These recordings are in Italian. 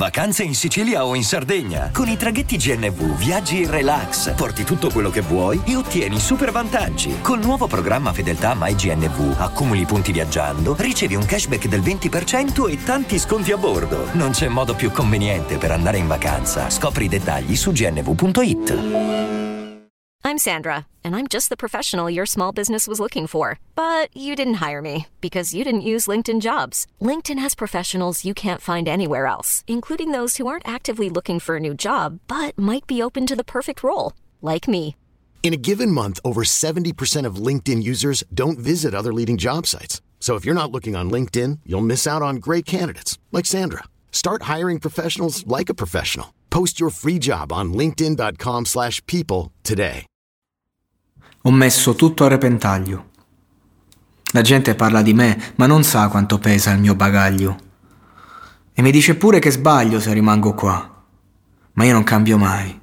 Vacanze in Sicilia o in Sardegna. Con i traghetti GNV viaggi in relax, porti tutto quello che vuoi e ottieni super vantaggi. Col nuovo programma Fedeltà MyGNV accumuli punti viaggiando, ricevi un cashback del 20% e tanti sconti a bordo. Non c'è modo più conveniente per andare in vacanza. Scopri i dettagli su gnv.it. I'm Sandra, and I'm just the professional your small business was looking for. But you didn't hire me because you didn't use LinkedIn Jobs. LinkedIn has professionals you can't find anywhere else, including those who aren't actively looking for a new job, but might be open to the perfect role, like me. In a given month, over 70% of LinkedIn users don't visit other leading job sites. So if you're not looking on LinkedIn, you'll miss out on great candidates like Sandra. Start hiring professionals like a professional. Post your free job on linkedin.com/people today. Ho messo tutto a repentaglio. La gente parla di me, ma non sa quanto pesa il mio bagaglio. E mi dice pure che sbaglio se rimango qua. Ma io non cambio mai.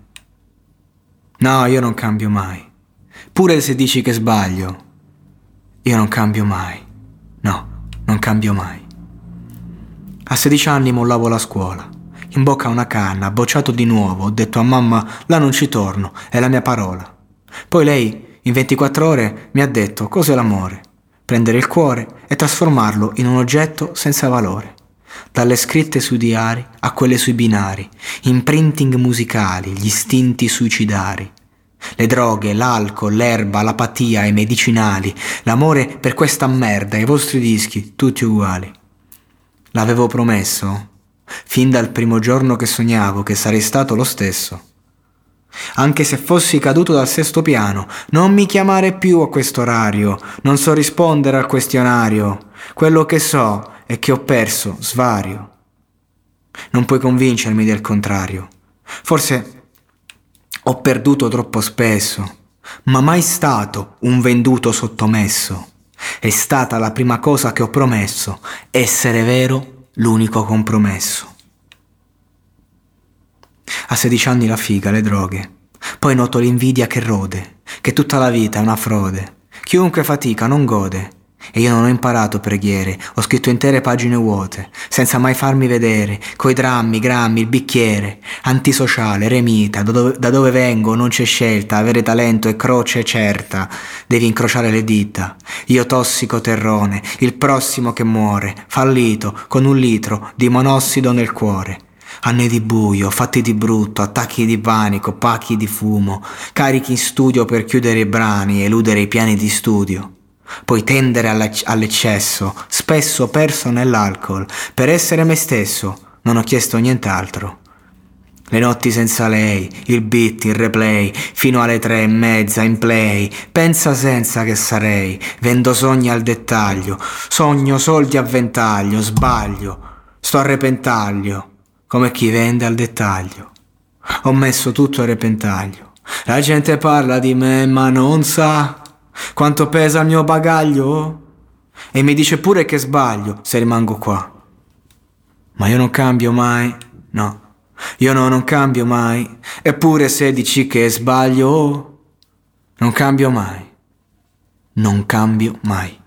No, io non cambio mai. Pure se dici che sbaglio, io non cambio mai. No, non cambio mai. A 16 anni mollavo la scuola. In bocca una canna, bocciato di nuovo, ho detto a mamma, là non ci torno, è la mia parola. Poi lei, in 24 ore, mi ha detto cos'è l'amore. Prendere il cuore e trasformarlo in un oggetto senza valore. Dalle scritte sui diari a quelle sui binari, imprinting musicali, gli istinti suicidari. Le droghe, l'alcol, l'erba, l'apatia, i medicinali, l'amore per questa merda, i vostri dischi, tutti uguali. L'avevo promesso, fin dal primo giorno che sognavo che sarei stato lo stesso. Anche se fossi caduto dal 6º piano, non mi chiamare più a questo orario, non so rispondere al questionario. Quello che so è che ho perso svario. Non puoi convincermi del contrario. Forse ho perduto troppo spesso, ma mai stato un venduto sottomesso. È stata la prima cosa che ho promesso, essere vero l'unico compromesso. A 16 anni la figa, le droghe. Poi noto l'invidia che rode, che tutta la vita è una frode. Chiunque fatica non gode. E io non ho imparato preghiere, ho scritto intere pagine vuote, senza mai farmi vedere, coi drammi, grammi, il bicchiere. Antisociale, remita, da dove vengo non c'è scelta, avere talento è croce certa. Devi incrociare le dita. Io tossico terrone, il prossimo che muore, fallito, con 1 litro di monossido nel cuore. Anni di buio, fatti di brutto, attacchi di panico, pacchi di fumo, carichi in studio per chiudere i brani, eludere i piani di studio. Poi tendere all'eccesso, spesso perso nell'alcol. Per essere me stesso non ho chiesto nient'altro. Le notti senza lei, il beat, il replay, fino alle 3:30 in play. Pensa senza che sarei, vendo sogni al dettaglio, sogno soldi a ventaglio, sbaglio, sto a repentaglio. Come chi vende al dettaglio. Ho messo tutto a repentaglio. La gente parla di me ma non sa quanto pesa il mio bagaglio. E mi dice pure che sbaglio se rimango qua. Ma io non cambio mai, no. Io non cambio mai. Eppure se dici che sbaglio, non cambio mai. Non cambio mai.